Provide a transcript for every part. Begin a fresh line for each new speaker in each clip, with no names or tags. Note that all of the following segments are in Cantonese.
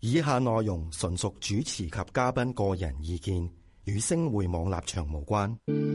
以下內容純屬主持及嘉賓個人意見，與星匯網立場無關。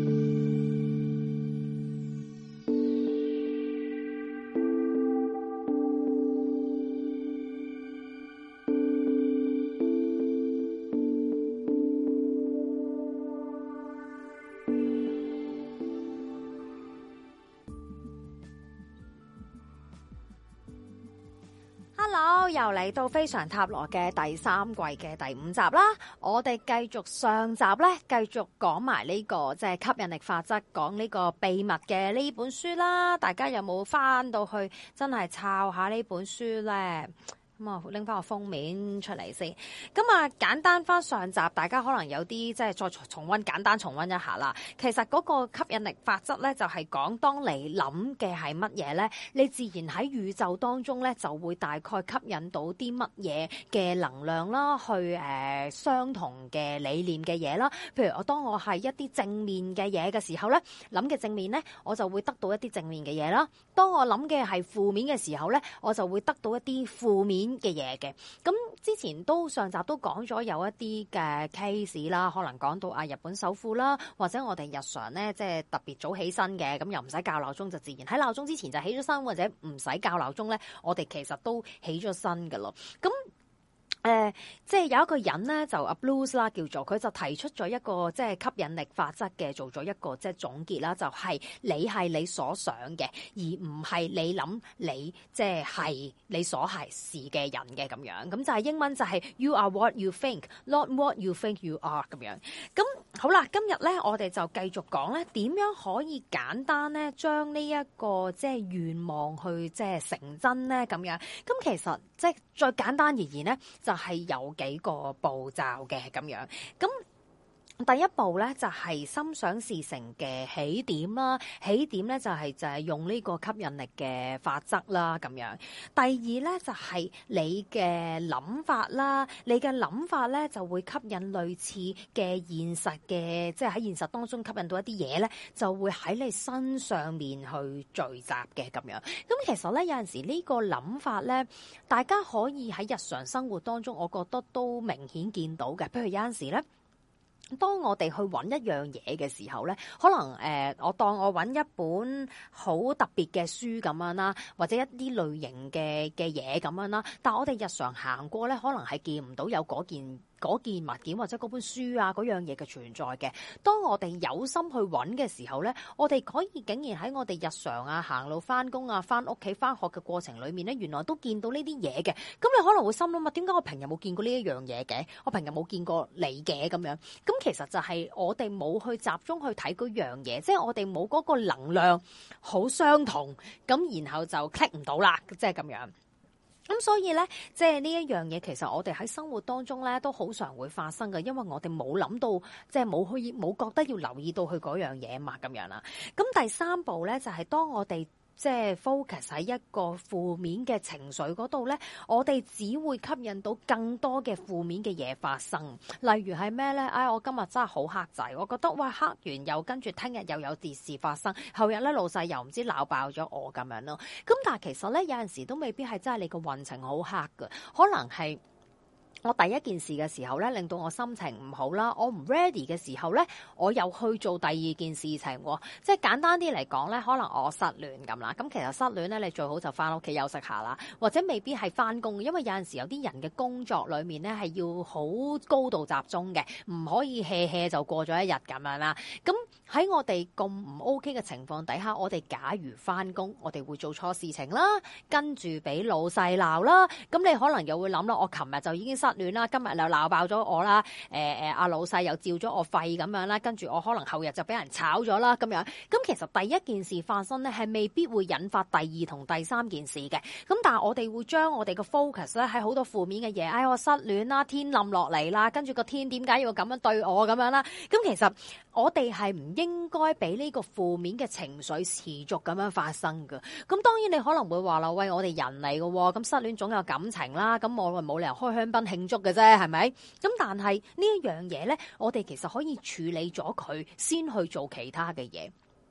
又嚟到非常塔羅嘅第三季嘅第5集啦，我哋繼續上集咧，繼續講埋呢個即係吸引力法則，講呢個秘密嘅呢本書啦。大家有冇翻到去真係抄下呢本書咧？咁啊，拎翻個封面出嚟先。咁啊，簡單翻上集，大家可能有啲即係再重溫，簡單重溫一下啦。其實嗰個吸引力法則咧，就係講當你諗嘅係乜嘢咧，你自然喺宇宙當中咧就會大概吸引到啲乜嘢嘅能量啦，去相同嘅理念嘅嘢啦。譬如當我係一啲正面嘅嘢嘅時候咧，諗嘅正面咧，我就會得到一啲正面嘅嘢啦。當我諗嘅係負面嘅時候咧，我就會得到一啲負面嘅嘢嘅。咁之前上集都講咗有一啲嘅 case 啦，可能講到日本首富啦，或者我哋日常咧即係特別早起身嘅，咁又唔使校鬧鐘就自然喺鬧鐘之前就起咗身，或者唔使校鬧鐘咧，我哋其實都起咗身噶咯。咁即係有一個人咧，就阿 Blues 啦，叫做佢就提出咗一個即係吸引力法則嘅，做咗一個即係總結啦，就係你係你所想嘅，而唔係你諗你即係你所係是嘅人嘅咁樣。咁就係英文就係 You are what you think, not what you think you are 咁樣。咁好啦，今日咧我哋就繼續講咧，點樣可以簡單咧將呢一個即係願望去即係成真咧咁樣。咁其實即係再簡單而言咧，就係有幾個步驟嘅咁樣。咁第一步咧就係心想事成嘅起點啦，起點咧就係用呢個吸引力嘅法則啦咁樣。第二咧就係你嘅諗法啦，你嘅諗法咧就會吸引類似嘅現實嘅，即係喺現實當中吸引到一啲嘢咧，就會喺你身上面去聚集嘅咁樣。咁其實咧有陣時呢個諗法咧，大家可以喺日常生活當中，我覺得都明顯見到嘅。譬如有陣時咧，當我哋去揾一樣嘢嘅時候咧，可能我當我揾一本好特別嘅書咁樣啦，或者一啲類型嘅嘢咁樣啦，但我哋日常行過咧，可能係見唔到有嗰件物件或者嗰本書啊嗰樣嘢嘅存在嘅。當我哋有心去揾嘅時候咧，我哋可以竟然喺我哋日常行路翻工翻屋企翻學嘅過程裏面咧，原來都見到呢啲嘢嘅。咁你可能會心諗啊，點解我平日冇見過呢一樣嘢嘅？我平日冇見過你嘅咁樣。咁其實就係我哋冇去集中去睇嗰樣嘢，即係我哋冇嗰個能量好相同，咁然後就 click 唔到啦，即係咁樣。咁所以咧，即係呢一樣嘢，其實我哋喺生活當中咧都好常會發生嘅，因為我哋冇諗到，即係冇覺得要留意到佢嗰樣嘢嘛，咁樣啦。咁第三步咧就係當我哋即係 focus 喺一個負面嘅情緒嗰度咧，我哋只會吸引到更多嘅負面嘅嘢發生。例如係咩咧？我今日真係好黑仔，我覺得哇，黑完又跟住聽日又有啲事發生，後日咧老細又唔知鬧爆咗我咁樣咯。咁但係其實咧有陣時都未必係真係你個運程好黑㗎，可能係我第一件事嘅時候咧，令到我心情唔好啦。我唔 ready 嘅時候咧，我又去做第二件事情喎。即係簡單啲嚟講咧，可能我失戀咁啦。咁其實失戀咧，你最好就翻屋企休息下啦，或者未必係翻工，因為有陣時有啲人嘅工作裏面咧係要好高度集中嘅，唔可以 hea 就過咗一日咁樣啦。咁喺我哋咁唔 OK 嘅情況底下，我哋假如翻工，我哋會做錯事情啦，跟住俾老細鬧啦。咁你可能又會諗啦，我琴日就已經失戀啦，今日又鬧爆咗我啦，阿老細又照咗我肺咁樣啦，跟住我可能後日就俾人炒咗啦咁樣。咁其實第一件事發生咧，係未必會引發第二同第三件事嘅。咁但係我哋會將我哋嘅 focus 咧喺好多負面嘅嘢，我失戀啦，天冧落嚟啦，跟住個天點解要咁樣對我咁樣啦？咁其實我哋係唔應該俾呢個負面嘅情緒持續咁樣發生㗎。咁當然你可能會話啦，喂，我哋人嚟㗎，咁失戀總有感情啦，咁我冇理由開香檳慶祝嘅啫，係咪？咁但係呢一樣嘢咧，我哋其實可以處理咗佢，先去做其他嘅嘢。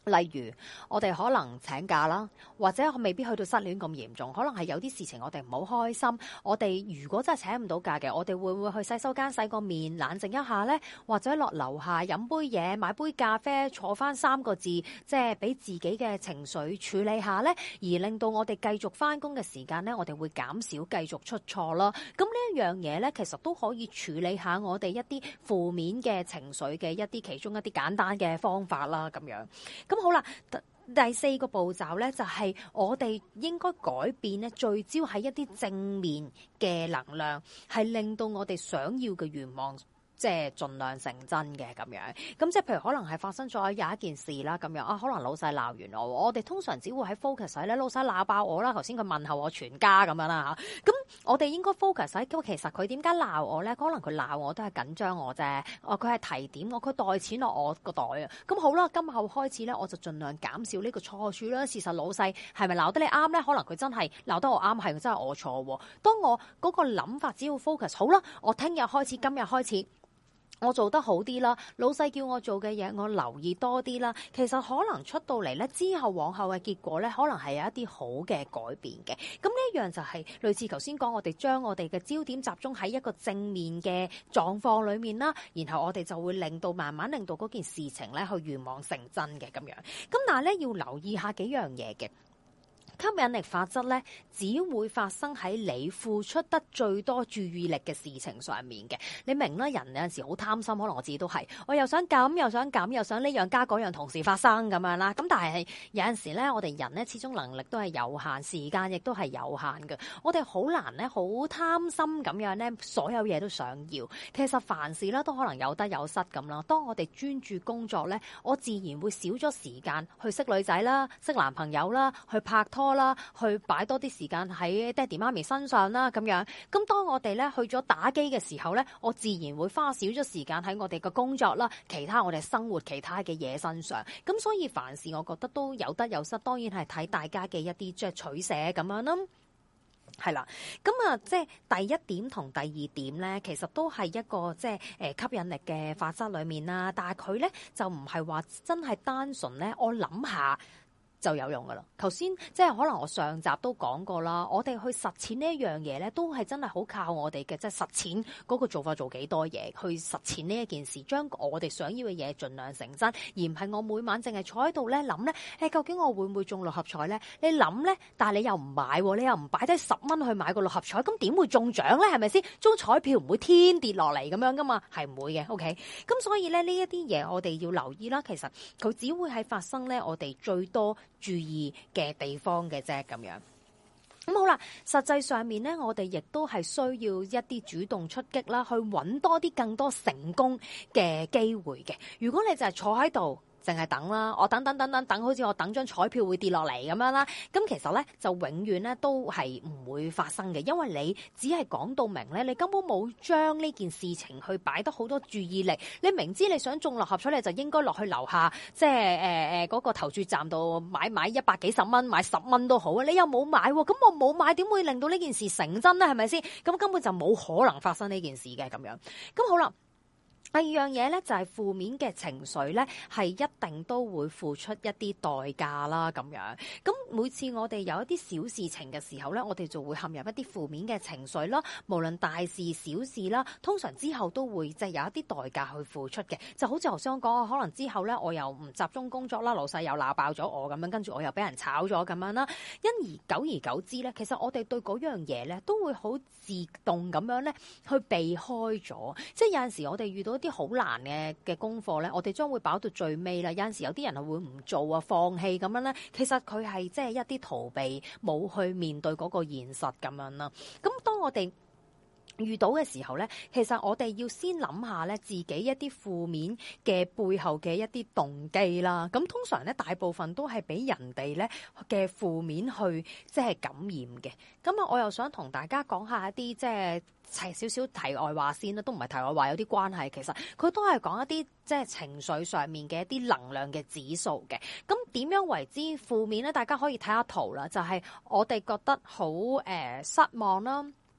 例如我哋可能請假啦，或者未必去到失戀咁嚴重，可能係有啲事情我哋唔好開心。我哋如果真係請唔到假嘅，我哋會唔會去洗手間洗個面冷靜一下呢？或者落樓下飲杯嘢，買杯咖啡，坐翻3個字，即係俾自己嘅情緒處理下呢，而令到我哋繼續翻工嘅時間呢，我哋會減少繼續出錯啦。咁呢一樣嘢呢，其實都可以處理下我哋一啲負面嘅情緒嘅其中一啲簡單嘅方法啦，咁樣。咁好啦，第4個步驟咧，就係我哋應該改變咧，聚焦喺一啲正面嘅能量，係令到我哋想要嘅願望，即係盡量成真嘅咁樣。咁即係譬如可能係發生咗有一件事啦，咁樣啊，可能老細鬧完我哋通常只會喺 focus 喺咧老細鬧爆我啦，頭先佢問候我全家咁樣啦嚇。咁我哋應該 focus 喺其實佢點解鬧我咧？可能佢鬧我都係緊張我啫。佢係提點我，佢袋錢落我個袋啊。咁好啦，今後開始咧，我就盡量減少呢個錯處啦。事實老細係咪鬧得你啱咧？可能佢真係鬧得我啱，係真係我錯。當我嗰個諗法只要 focus 好啦，我聽日開始，今日開始。我做得好啲啦，老細叫我做嘅嘢，我留意多啲啦。其實可能出到嚟咧，之後往後嘅結果咧，可能係有一啲好嘅改變嘅。咁呢一樣就係類似頭先講，我哋將我哋嘅焦點集中喺一個正面嘅狀況裏面啦，然後我哋就會慢慢令到嗰件事情咧去願望成真嘅咁樣。咁但係咧要留意下幾樣嘢嘅。吸引力法則咧，只會發生喺你付出得最多注意力嘅事情上面嘅。你明啦，人有陣時好貪心，可能我自己都係，我又想咁，又想咁，又想呢樣加嗰樣同時發生咁樣啦。咁但係有陣時咧，我哋人咧始終能力都係有限，時間亦都係有限嘅。我哋好難咧，好貪心咁樣咧，所有嘢都想要。其實凡事咧都可能有得有失咁啦。當我哋專注工作咧，我自然會少咗時間去識女仔啦、識男朋友啦、去拍拖啦，去擺多啲時間喺爹哋媽咪身上啦，咁樣。咁當我哋咧去咗打機嘅時候咧，我自然會花少咗時間喺我哋嘅工作啦，其他我哋生活其他嘅嘢身上。咁所以凡事我覺得都有得有失，當然係睇大家嘅一啲即係取捨咁樣啦。係啦，咁啊，即係第一點同第二點咧，其實都係一個即係吸引力嘅法則裏面啦。但係佢咧就唔係話真係單純咧，我諗下就有用噶啦。頭先即係可能我上集都講過啦，我哋去實踐呢一樣嘢咧，都係真係好靠我哋嘅即係實踐嗰個做法，做幾多嘢去實踐呢一件事，將我哋想要嘅嘢盡量成真，而唔係我每晚淨係坐喺度咧諗咧，究竟我會唔會中六合彩咧？你諗咧，但係你又唔買，你又唔擺低10蚊去買個六合彩，咁點會中獎咧？係咪先？中彩票唔會天跌落嚟咁樣噶嘛，係唔會嘅。OK，咁所以咧呢一啲嘢我哋要留意啦。其實佢只會係發生咧我哋最多注意嘅地方嘅啫，咁樣。咁好啦，實際上面咧，我哋亦都係需要一啲主動出擊啦，去揾多啲更多成功嘅機會嘅。如果你就係坐喺度，淨係等啦，我等，好似我等張彩票會跌落嚟咁樣啦。咁其實咧就永遠咧都係唔會發生嘅，因為你只係講到明咧，你根本冇將呢件事情去擺得好多注意力。你明知你想中六合彩，你就應該落去樓下，即係嗰個投注站度買100幾十蚊，買10蚊都好啊。你又冇買，咁我冇買，點會令到呢件事成真咧？係咪先？咁根本就冇可能發生呢件事嘅咁樣。咁好啦。第二樣嘢咧就係負面嘅情緒咧，係一定都會付出一啲代價啦咁樣。咁每次我哋有一啲小事情嘅時候咧，我哋就會陷入一啲負面嘅情緒啦。無論大事小事啦，通常之後都會即係有一啲代價去付出嘅。就好似頭先我講，可能之後咧我又唔集中工作啦，老細又鬧爆咗我咁樣，跟住我又俾人炒咗咁樣啦。因而久而久之咧，其實我哋對嗰樣嘢咧都會好自動咁樣咧去避開咗。即係有陣時我哋遇到啲好難嘅功課咧，我哋將會擺到最尾啦。有陣時有啲人係會唔做啊，放棄咁樣咧。其實佢係即係一啲逃避，冇去面對嗰個現實咁樣啦。咁當我哋遇到嘅時候咧，其實我哋要先諗下咧自己一啲負面嘅背後嘅一啲動機啦。咁通常咧大部分都係俾人哋咧嘅負面去即係感染嘅。咁啊，我又想同大家講下一啲即係少少題外話先啦，都唔係題外話，有啲關係。其實佢都係講一啲即係情緒上面嘅一啲能量嘅指數嘅。咁點樣為之負面咧？大家可以睇下圖啦，就係我哋覺得好失望啦。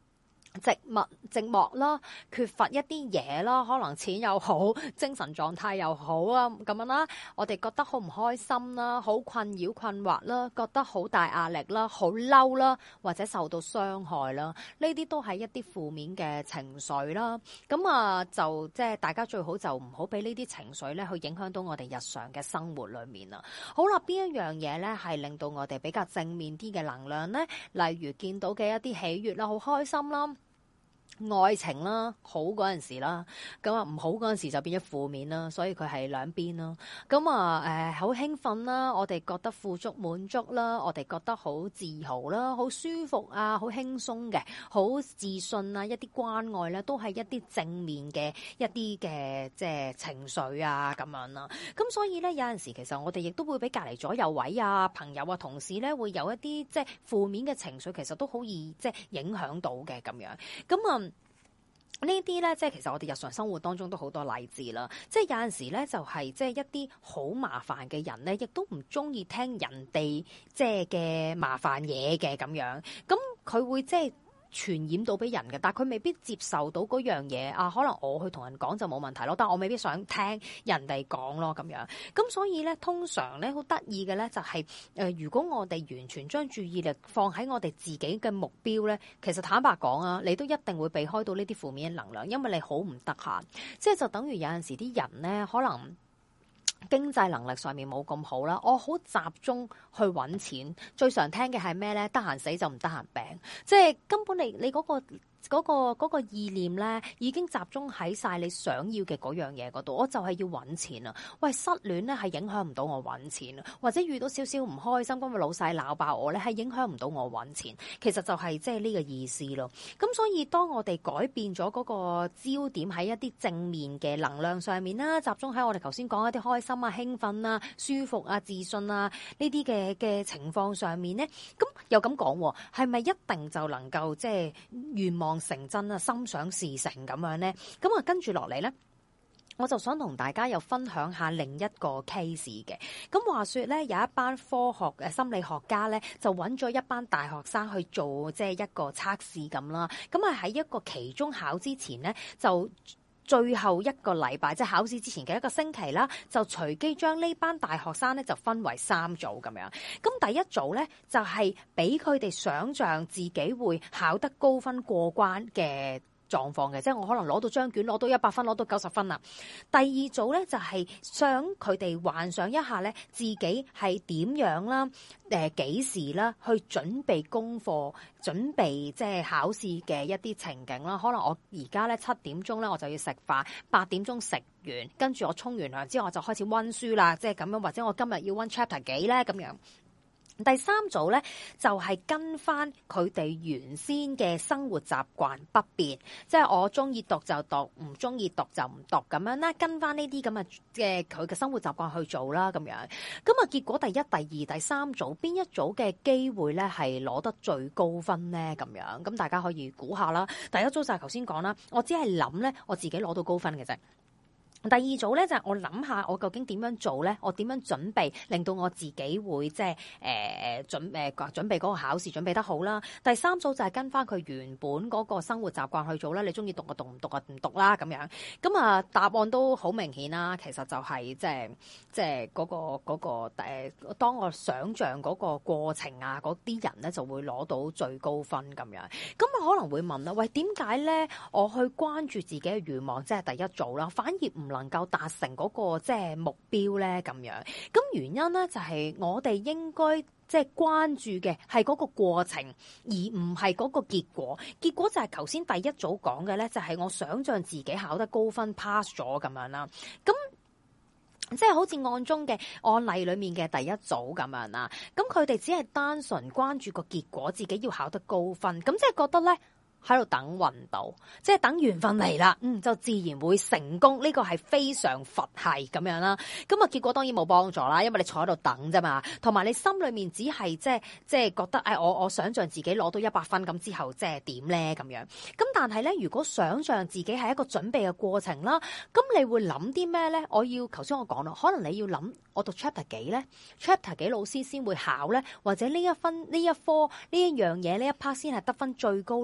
寂寞啦，缺乏一啲嘢啦，可能錢又好，精神狀態又好啊，咁樣啦，我哋覺得好唔開心啦，好困擾困惑啦，覺得好大壓力啦，好嬲啦，或者受到傷害啦，呢啲都係一啲負面嘅情緒啦。咁啊，就即係大家最好就唔好俾呢啲情緒咧去影響到我哋日常嘅生活裏面啦。好啦，邊一樣嘢咧係令到我哋比較正面啲嘅能量咧？例如見到嘅一啲喜悅啦，好開心啦。愛情啦，好嗰陣時啦，咁啊唔好嗰陣時就變咗負面啦，所以佢係兩邊啦。咁啊好興奮啦，我哋覺得富足滿足啦，我哋覺得好自豪啦，好舒服啊，好輕鬆嘅，好自信啊，一啲關愛咧都係一啲正面嘅一啲嘅即係情緒啊咁樣啦。咁所以咧有陣時其實我哋亦都會俾隔離左右位啊朋友啊同事咧會有一啲即係負面嘅情緒，其實都好易即係影響到嘅咁樣。咁啊呢啲咧，即係其實我哋日常生活當中都好多例子啦。即係有陣時咧，就係即係一啲好麻煩嘅人咧，亦都唔中意聽人哋即係嘅麻煩嘢嘅咁樣。咁佢會即係傳染到俾人嘅，但係佢未必接受到嗰樣嘢啊。可能我去同人講就冇問題咯，但係我未必想聽人哋講咯咁樣。咁所以咧，通常咧好得意嘅咧就係如果我哋完全將注意力放喺我哋自己嘅目標咧，其實坦白講啊，你都一定會避開到呢啲負面嘅能量，因為你好唔得閒。即係就等於有陣時啲人咧，可能經濟能力上面冇咁好啦，我好集中去揾錢，最常聽嘅係咩咧？得閒死就唔得閒病，即係根本你嗰個意念咧，已經集中喺晒你想要嘅嗰樣嘢嗰度。我就係要揾錢啊！喂，失戀咧係影響唔到我揾錢啊，或者遇到少少唔開心，因為老細鬧爆我咧，係影響唔到我揾錢。其實就係即係呢個意思咯。咁所以當我哋改變咗嗰個焦點喺一啲正面嘅能量上面啦，集中喺我哋頭先講一啲開心啊、興奮啊、舒服啊、自信啊呢啲嘅情況上面咧，咁又咁講，係咪一定就能夠即係願望成真啊，心想事成咁樣咧？咁啊，跟住落嚟咧，我就想同大家又分享下另一個 case 嘅。咁話說咧，有一班科學心理學家咧，就揾咗一班大學生去做即係一個測試咁啦。咁啊喺一個期中考之前咧，就最後一個禮拜，即係考試之前嘅一個星期啦，就隨機將呢班大學生咧就分為3組咁樣。咁第一組咧就係俾佢哋想像自己會考得高分過關嘅狀況嘅，即係我可能攞到張卷，攞到100分，攞到90分啦。第二組咧就係想佢哋幻想一下咧，自己係點樣啦，幾時啦，去準備功課，準備即係考試嘅一啲情景啦。可能我而家咧7點鐘咧我就要食飯，8點鐘食完，跟住我沖完涼之後我就開始溫書啦，即係咁樣，或者我今日要溫 chapter 幾咧咁樣。第三組咧就係跟翻佢哋原先嘅生活習慣不變，即係我中意讀就讀，唔中意讀就唔讀咁樣啦，跟翻呢啲咁嘅佢嘅生活習慣去做啦咁樣。咁啊結果第一、第二、第三組邊一組嘅機會咧係攞得最高分咧咁樣？咁大家可以估下啦。第一組就係頭先講啦，我只係諗咧我自己攞到高分嘅啫。第二組咧就係我諗下我究竟點樣做咧，我點樣準備令到我自己會即係準備嗰個考試準備得好啦。第三組就係跟翻佢原本嗰個生活習慣去做啦。你中意讀就讀，唔讀就唔讀啦咁樣。咁啊答案都好明顯啦，其實就係即係嗰個當我想像嗰個過程啊，嗰啲人咧就會攞到最高分咁樣。咁啊可能會問啦，喂，點解咧我去關注自己嘅願望，即係第一組啦，反而唔能夠達成嗰個即係目標咧咁樣？咁原因咧就係我哋應該即係關注嘅係嗰個過程，而唔係嗰個結果。結果就係頭先第一組講嘅咧，就係我想像自己考得高分 pass 咗咁樣啦。咁即係好似案中嘅案例裏面嘅第一組咁樣啦。咁佢哋只係單純關注個結果，自己要考得高分，咁即係覺得咧喺度等運到，即係等緣分嚟啦，就自然會成功。呢個係非常佛系咁樣啦。咁啊，結果當然冇幫助啦，因為你坐喺度等啫嘛，同埋你心裏面只係即係覺得，我想象自己攞到100分咁之後，即係點咧咁樣。咁但係咧，如果想象自己係一個準備嘅過程啦，咁你會諗啲咩咧？頭先我講啦，可能你要諗我讀 chapter 幾咧 ，chapter 幾老師先會考咧，或者呢一科呢一樣嘢呢一 part 先係得分最高咧。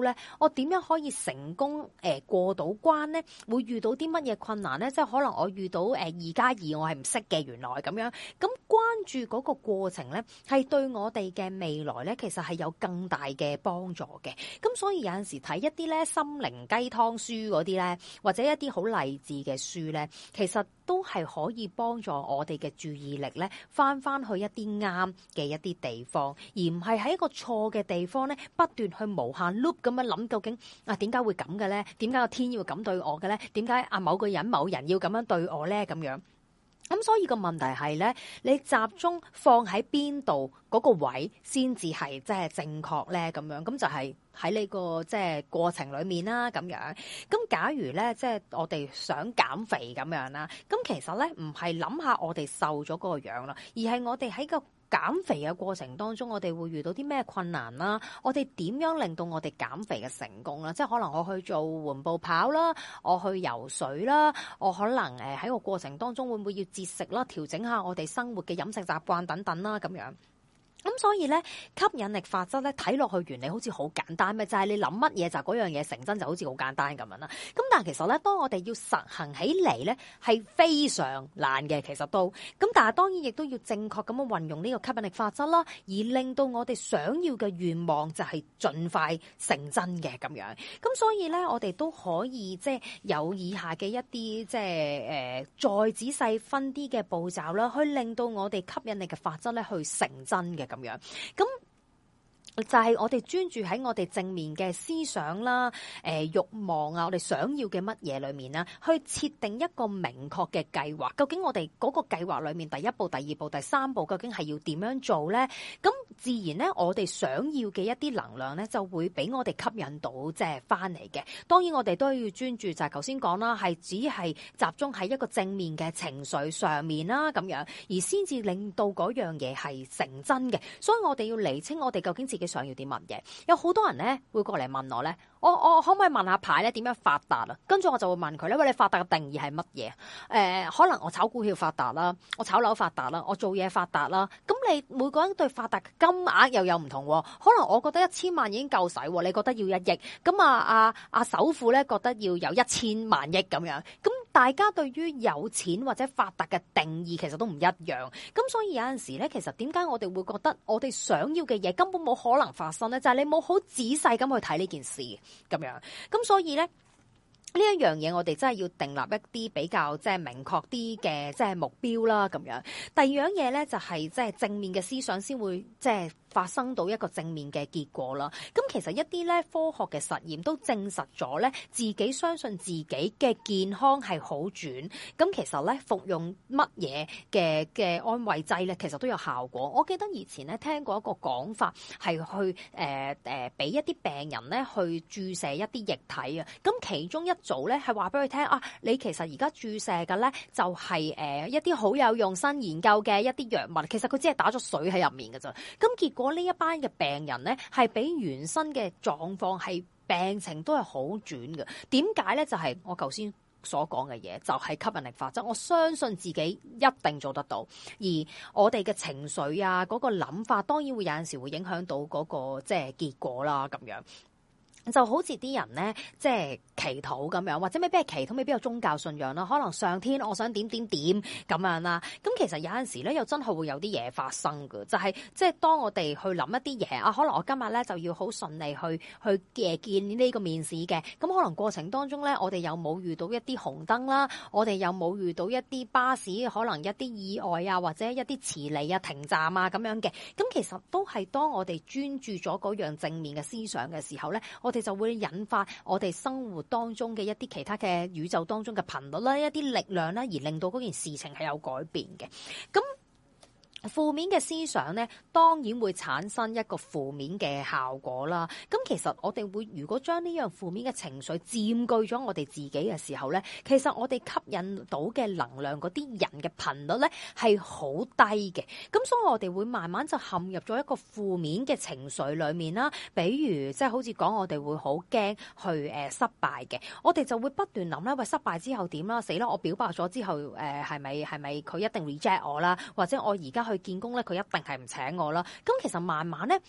我點樣可以成功過到關咧？會遇到啲乜嘢困難咧？即係可能我遇到2+2我係唔識嘅，原來咁樣。咁關注嗰個過程咧，係對我哋嘅未來咧，其實係有更大嘅幫助嘅。咁所以有陣時睇一啲咧心靈雞湯書嗰啲咧，或者一啲好勵志嘅書咧，其實都係可以幫助我哋嘅注意力咧，翻去一啲啱嘅一啲地方，而唔係喺一個錯嘅地方咧，不斷去無限 loop 咁樣諗，究竟點解會咁嘅咧？點解個天要咁對我嘅咧？點解某個人某人要咁樣對我咧？咁樣。咁所以個問題係咧，你集中放喺邊度嗰個位先至係即係正確咧？咁樣咁就係喺你個即係過程裏面啦。咁樣咁假如咧，即係我哋想減肥咁樣啦，咁其實咧唔係諗下我哋瘦咗嗰個樣啦，而係我哋喺個減肥嘅過程當中，我哋會遇到啲咩困難啦？我哋點樣令到我哋減肥嘅成功啦？即係可能我去做緩步跑啦，我去游水啦，我可能喺個過程當中會唔會要節食啦，調整下我哋生活嘅飲食習慣等等啦，咁樣。咁所以咧，吸引力法則咧睇落去原理好似好簡單咩？就係你諗乜嘢就嗰樣嘢成真，就好似好簡單咁樣啦。咁但係其實咧，當我哋要實行起嚟咧，係非常難嘅。其實都咁，但係當然亦都要正確咁樣運用呢個吸引力法則啦，而令到我哋想要嘅願望就係盡快成真嘅咁樣。咁所以咧，我哋都可以即係有以下嘅一啲即係再仔細分啲嘅步驟啦，去令到我哋吸引力嘅法則咧去成真嘅。咁樣，咁就係我哋專注喺我哋正面嘅思想啦、慾望啊，我哋想要嘅乜嘢裏面啦，去設定一個明確嘅計劃。究竟我哋嗰個計劃裏面第一步、第二步、第三步，究竟係要點樣做咧？咁自然咧，我哋想要嘅一啲能量咧，就會俾我哋吸引到即係翻嚟嘅。當然，我哋都要專注，就係頭先講啦，係只係集中喺一個正面嘅情緒上面啦，咁樣而先至令到嗰樣嘢係成真嘅。所以我哋要釐清我哋究竟自己想要啲乜嘢。有好多人咧會過嚟問我咧，我可唔可以問下牌咧點樣發達啊？跟住我就會問佢咧，喂，你發達嘅定義係乜嘢？可能我炒股票發達啦，我炒樓發達啦，我做嘢發達啦。咁你每個人對發達嘅金額又有唔同喎。可能我覺得1000萬已經夠使，你覺得要1億，咁阿首富咧覺得要有1000萬億咁樣。咁大家對於有錢或者發達嘅定義其實都唔一樣。咁所以有陣時咧，其實點解我哋會覺得我哋想要嘅嘢根本冇可能發生咧？就係你冇好仔細咁去睇呢件事咁樣。咁所以咧，呢一樣嘢我哋真係要訂立一啲比較即係明確啲嘅即係目標啦咁樣。第二樣嘢咧就係即係正面嘅思想先會即係發生到一個正面嘅結果啦。咁其實一啲咧科學嘅實驗都證實咗咧，自己相信自己嘅健康係好轉。咁其實咧服用乜嘢嘅安慰劑咧，其實都有效果。我記得以前咧聽過一個講法係去俾一啲病人咧去注射一啲液體啊。咁其中一組咧係話俾佢聽啊，你其實而家注射嘅咧就係一啲好有用新研究嘅一啲藥物，其實佢只係打咗水喺入面嘅咋。咁結果呢一班嘅病人咧係比原身嘅狀況係病情都係好轉嘅。點解咧？就係我頭先所講嘅嘢，就係吸引力法則。我相信自己一定做得到，而我哋嘅情緒啊，嗰個諗法，當然會有陣時會影響到嗰個即係結果啦，咁樣。就好似啲人咧，即係祈禱咁樣，或者未必係祈禱，未必有宗教信仰啦。可能上天，我想點點點咁樣啦。咁其實有陣時咧，又真係會有啲嘢發生㗎。就係即係當我哋去諗一啲嘢啊，可能我今日咧就要好順利去見呢個面試嘅。咁可能過程當中咧，我哋有冇遇到一啲紅燈啦？我哋有冇遇到一啲巴士可能一啲意外啊，或者一啲遲嚟啊、停站啊咁樣嘅？咁其實都係當我哋專注咗嗰樣正面嘅思想嘅時候咧，我哋就會引發我哋生活當中嘅一啲其他嘅宇宙當中嘅頻率啦，一啲力量啦，而令到嗰件事情係有改變嘅。咁負面嘅思想咧，當然會產生一個負面嘅效果啦。咁其實我哋會如果將呢樣負面嘅情緒佔據咗我哋自己嘅時候咧，其實我哋吸引到嘅能量嗰啲人嘅頻率咧係好低嘅。咁所以我哋會慢慢就陷入咗一個負面嘅情緒裏面啦。比如即係好似講我哋會好驚去失敗嘅，我哋就會不斷諗啦，喂，失敗之後點啦？死啦！我表白咗之後係咪佢一定 reject 我啦？或者我而家去見工咧，佢一定係唔請我啦。咁其實慢慢咧，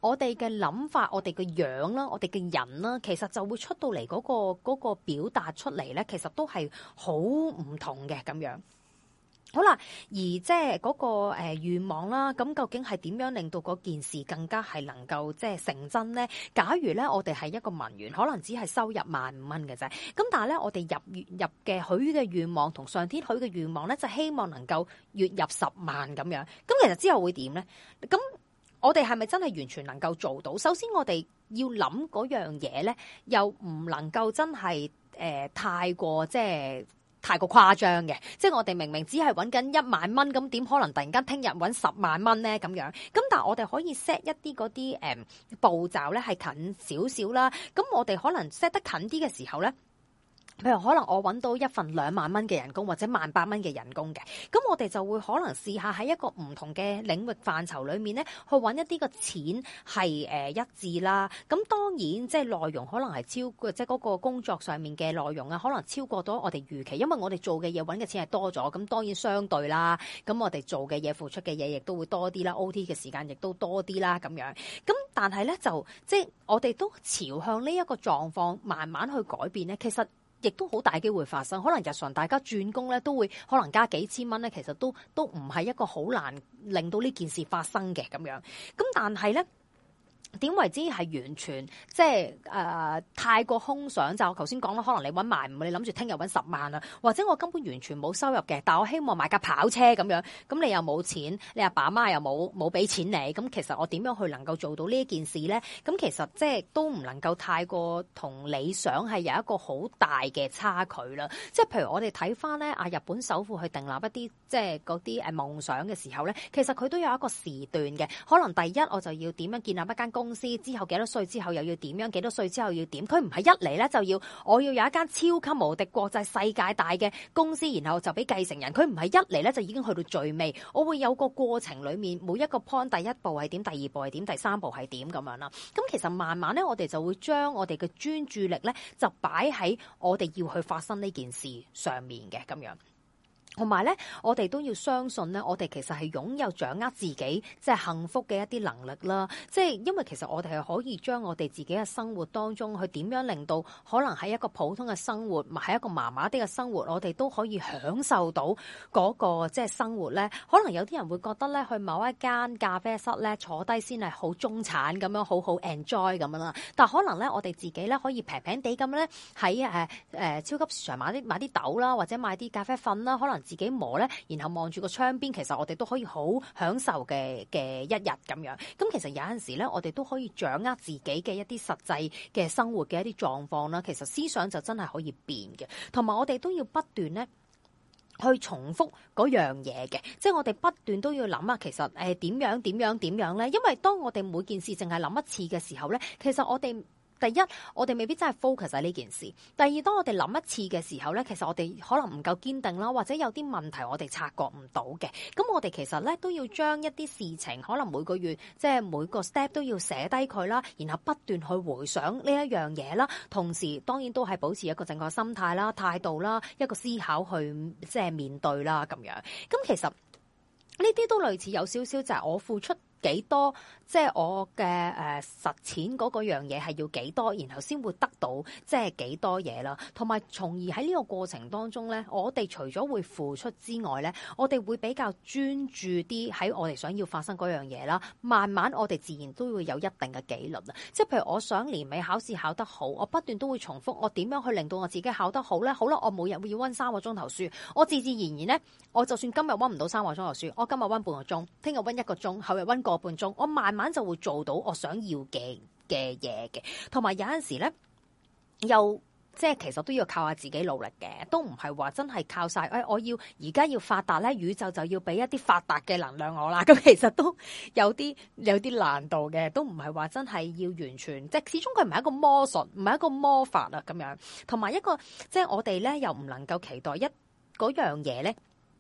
我哋嘅諗法、我哋嘅樣啦、我哋嘅人啦，其實就會出到嚟嗰個表達出嚟咧，其實都係好唔同嘅咁樣。好啦，而即係嗰個願望啦，咁究竟係點樣令到嗰件事更加係能夠即係成真咧？假如咧我哋係一個文員，可能只係收入15,000嘅啫，咁但係咧我哋入嘅許嘅願望同上天許嘅願望咧，就希望能夠月入10萬咁樣。咁其實之後會點咧？咁我哋係咪真係完全能夠做到？首先我哋要諗嗰樣嘢咧，又唔能夠真係太過太過誇張嘅，即係我哋明明只係揾緊1萬蚊，咁點可能突然間聽日揾10萬蚊咧？咁樣，咁但係我哋可以 set 一啲嗰啲步驟咧，係近少少啦。咁我哋可能 set 得近啲嘅時候咧，譬如可能我揾到一份2萬蚊嘅人工或者1,800蚊嘅人工嘅，咁我哋就會可能試下喺一個唔同嘅領域範疇裏面咧，去揾一啲個錢係一致啦。咁當然即係內容可能係超過即係嗰個工作上面嘅內容啊，可能超過咗我哋預期，因為我哋做嘅嘢揾嘅錢係多咗，咁當然相對啦。咁我哋做嘅嘢付出嘅嘢亦都會多啲啦 ，OT 嘅時間亦都多啲啦咁樣。咁但係咧就即係我哋都朝向呢一個狀況慢慢去改變咧，其實亦都好大機會發生，可能日常大家轉工咧都會可能加幾千蚊咧，其實都唔係一個好難令到呢件事發生嘅咁樣。咁但係咧，點為之係完全即係太過空想？就我頭先講啦，可能你揾15000，你諗住聽日揾10萬啊，或者我根本完全冇收入嘅，但我希望買架跑車咁樣，咁你又冇錢，你阿爸阿媽又冇俾錢你，咁其實我點樣去能夠做到呢一件事咧？咁其實即係都唔能夠太過同理想係有一個好大嘅差距啦。即係譬如我哋睇翻咧日本首富去訂立一啲即係嗰啲夢想嘅時候咧，其實佢都有一個時段嘅，可能第一我就要點樣建立一間公司，之後幾多歲之後又要點樣，幾多歲之後要點，佢唔係一嚟咧就要我要有一間超級無敵國際世界大嘅公司，然後就俾繼承人，佢唔係一嚟咧就已經去到最尾，我會有個過程裏面每一個 point， 第一步係點，第二步係點，第三步係點咁樣啦。咁其實慢慢咧我哋就會將我哋嘅專注力咧就擺喺我哋要去發生呢件事上面嘅咁樣。同埋咧，我哋都要相信咧，我哋其實係擁有掌握自己即係幸福嘅一啲能力啦。即係因為其實我哋係可以將我哋自己嘅生活當中去點樣令到可能喺一個普通嘅生活，喺一個麻麻啲嘅生活，我哋都可以享受到嗰個即係生活咧。可能有啲人會覺得咧，去某一間咖啡室咧坐低先係好中產咁樣，好好 enjoy 咁樣啦。但可能咧，我哋自己咧可以平平地咁咧喺超級市場買啲豆啦，或者買啲咖啡粉啦，可能自己磨咧，然後望住個窗邊，其實我哋都可以好享受嘅一日咁樣。咁其實有陣時咧，我哋都可以掌握自己嘅一啲實際嘅生活嘅一啲狀況啦。其實思想就真係可以變嘅，同埋我哋都要不斷咧去重複嗰樣嘢嘅，即係我哋不斷都要諗下，其實點樣咧？因為當我哋每件事淨係諗一次嘅時候咧，其實我哋第一，我哋未必真係 focus 喺呢件事。第二，當我哋諗一次嘅時候咧，其實我哋可能唔夠堅定啦，或者有啲問題我哋察覺唔到嘅。咁我哋其實咧都要將一啲事情，可能每個月即係每個 step 都要寫低佢啦，然後不斷去回想呢一樣嘢啦。同時，當然都係保持一個正確心態啦、態度啦、一個思考去即係面對啦咁樣。咁其實呢啲都類似有少少就係我付出幾多，即係我嘅實踐嗰個樣嘢係要幾多，然後先會得到即係幾多嘢啦。同埋從而喺呢個過程當中咧，我哋除咗會付出之外咧，我哋會比較專注啲喺我哋想要發生嗰樣嘢啦。慢慢我哋自然都會有一定嘅紀律啊。即係譬如我想年尾考試考得好，我不斷都會重複我點樣去令到我自己考得好咧。好啦，我每日會要溫3個鐘頭書，我自然而然咧，我就算今日溫唔到3個鐘頭書，我今日溫半個鐘，聽日溫1個鐘，後日溫個半鐘，我慢慢就會做到我想要嘅嘢嘅。同埋有陣時咧，又即係其實都要靠下自己努力嘅，都唔係話真係靠晒。我要而家要發達咧，宇宙就要俾一啲發達嘅能量我啦。咁其實都有啲難度嘅，都唔係話真係要完全，即係始終佢唔係一個魔術，唔係一個魔法啊咁樣。同埋一個即係我哋咧又唔能夠期待嗰樣嘢咧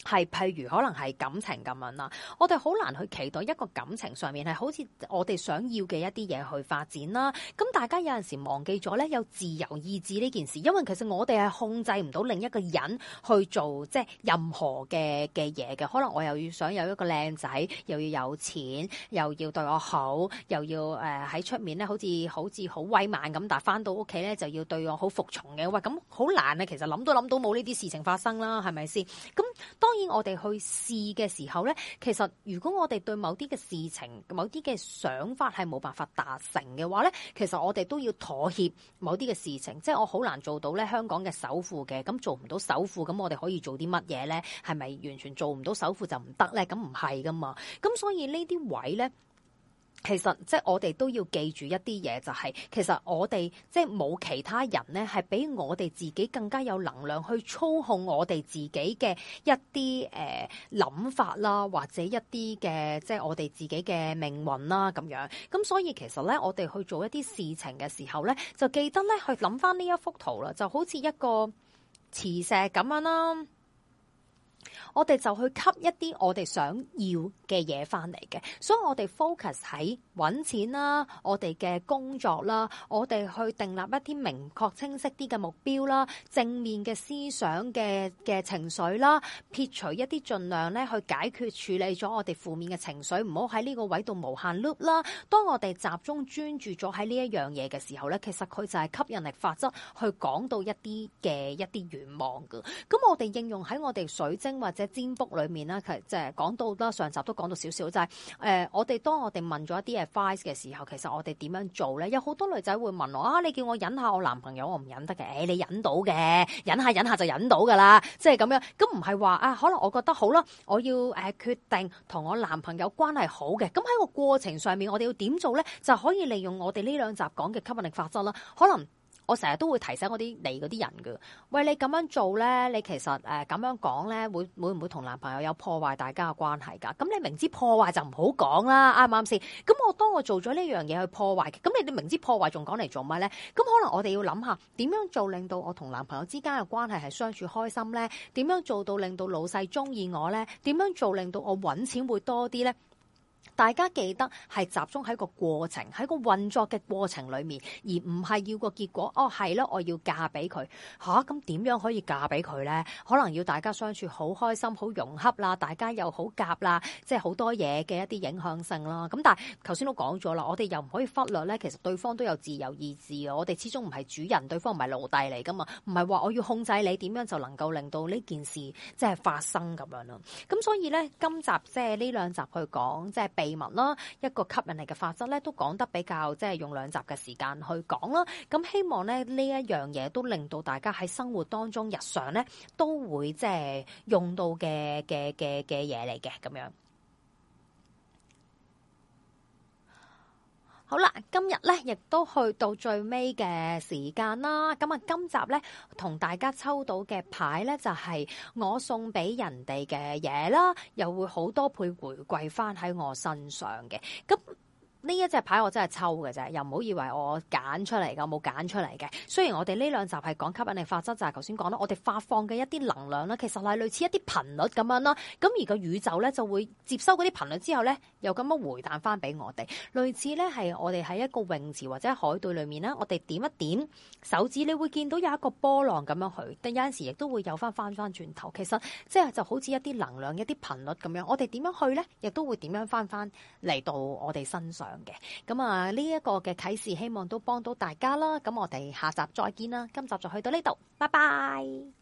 係譬如可能係感情咁樣啦，我哋好難去期待一個感情上面係好似我哋想要嘅一啲嘢去發展啦。咁大家有陣時忘記咗咧，有自由意志呢件事，因為其實我哋係控制唔到另一個人去做即係任何嘅嘢嘅。可能我又要想有一個靚仔，又要有錢，又要對我好，又要喺出面咧好似好威猛咁，但係翻到屋企咧就要對我好服從嘅。喂，咁好難啊！其實諗都冇呢啲事情發生啦，係咪先？咁當然我哋去試嘅時候咧，其實如果我哋對某啲嘅事情、某啲嘅想法係冇辦法達成嘅話咧，其實我哋都要妥協某啲嘅事情。即係我好難做到咧香港嘅首富嘅，咁做唔到首富，咁我哋可以做啲乜嘢咧？係咪完全做唔到首富就唔得咧？咁唔係噶嘛。咁所以呢啲位咧，其實即係我哋都要記住一啲嘢，就係其實我哋即係冇其他人咧，係比我哋自己更加有能量去操控我哋自己嘅一啲諗法啦，或者一啲嘅即係我哋自己嘅命運啦咁樣。咁所以其實咧，我哋去做一啲事情嘅時候咧，就記得咧去諗翻呢一幅圖啦，就好似一個磁石咁樣啦。我哋就去吸一啲我哋想要嘅嘢翻嚟嘅，所以我哋 focus 喺揾錢啦，我哋嘅工作啦，我哋去訂立一啲明確清晰啲嘅目標啦，正面嘅思想嘅情緒啦，撇除一啲盡量咧去解決處理咗我哋負面嘅情緒，唔好喺呢個位度無限 loop 啦。當我哋集中專注咗喺呢一樣嘢嘅時候咧，其實佢就係吸引力法則去講到一啲願望嘅。咁我哋應用喺我哋水晶或者占卜裏面啦，其實即係講到啦，上集都講到少少，就係當我哋問咗一啲 advice 嘅時候，其實我哋點樣做咧？有好多女仔會問我啊，你叫我忍下我男朋友，我唔忍得嘅。你忍到嘅，忍下就忍到噶啦，即係咁樣。咁唔係話啊，可能我覺得好啦，我要決定同我男朋友關係好嘅。咁喺個過程上面，我哋要點做咧？就可以利用我哋呢兩集講嘅吸引力法則啦。可能我成日都會提醒我啲嚟嗰啲人㗎，喂，你咁樣做咧，你其實咁樣講咧，會唔會同男朋友有破壞大家嘅關係㗎？咁你明知破壞就唔好講啦，啱唔啱先？咁當我做咗呢樣嘢去破壞，咁你明知破壞仲講嚟做乜咧？咁可能我哋要諗下點樣做令到我同男朋友之間嘅關係係相處開心咧？點樣做到令到老細中意我咧？點樣做令到我揾錢會多啲咧？大家記得係集中喺個過程，喺個運作嘅過程裏面，而唔係要個結果。哦，係咯，我要嫁俾佢吓，咁點樣可以嫁俾佢咧？可能要大家相處好開心、好融洽啦，大家又好夾啦，即係好多嘢嘅一啲影響性啦。咁但係頭先都講咗啦，我哋又唔可以忽略咧，其實對方都有自由意志嘅。我哋始終唔係主人，對方唔係奴隸嚟噶嘛，唔係話我要控制你點樣就能夠令到呢件事即係發生咁樣咯。咁所以咧，今集即係呢兩集去講即係秘密啦，一個吸引力嘅法則咧，都講得比較即係用兩集嘅時間去講啦。咁希望咧呢一樣嘢都令到大家喺生活當中日常咧都會即係用到嘅嘢嚟嘅咁樣。好啦，今日咧亦都去到最尾嘅時間啦。咁啊，今集咧同大家抽到嘅牌咧就係我送俾人哋嘅嘢啦，又會好多倍回饋翻喺我身上嘅。咁呢一隻牌我真係抽嘅啫，又唔好以為我揀出嚟㗎，冇揀出嚟嘅。雖然我哋呢兩集係講吸引力法則，就係頭先講啦，我哋發放嘅一啲能量啦，其實係類似一啲頻率咁樣啦。咁而個宇宙咧就會接收嗰啲頻率之後咧，又咁樣回彈翻俾我哋。類似咧係我哋喺一個泳池或者海對裏面咧，我哋點一點手指，你會見到有一個波浪咁樣去，但有陣時亦都會有翻轉頭。其實即係就好似一啲能量、一啲頻率咁樣，我哋點樣去咧，亦都會點樣翻嚟到我哋身上嘅。咁啊，呢一個嘅啟示希望都幫到大家啦。咁我哋下集再見啦，今集就去到呢度，拜拜。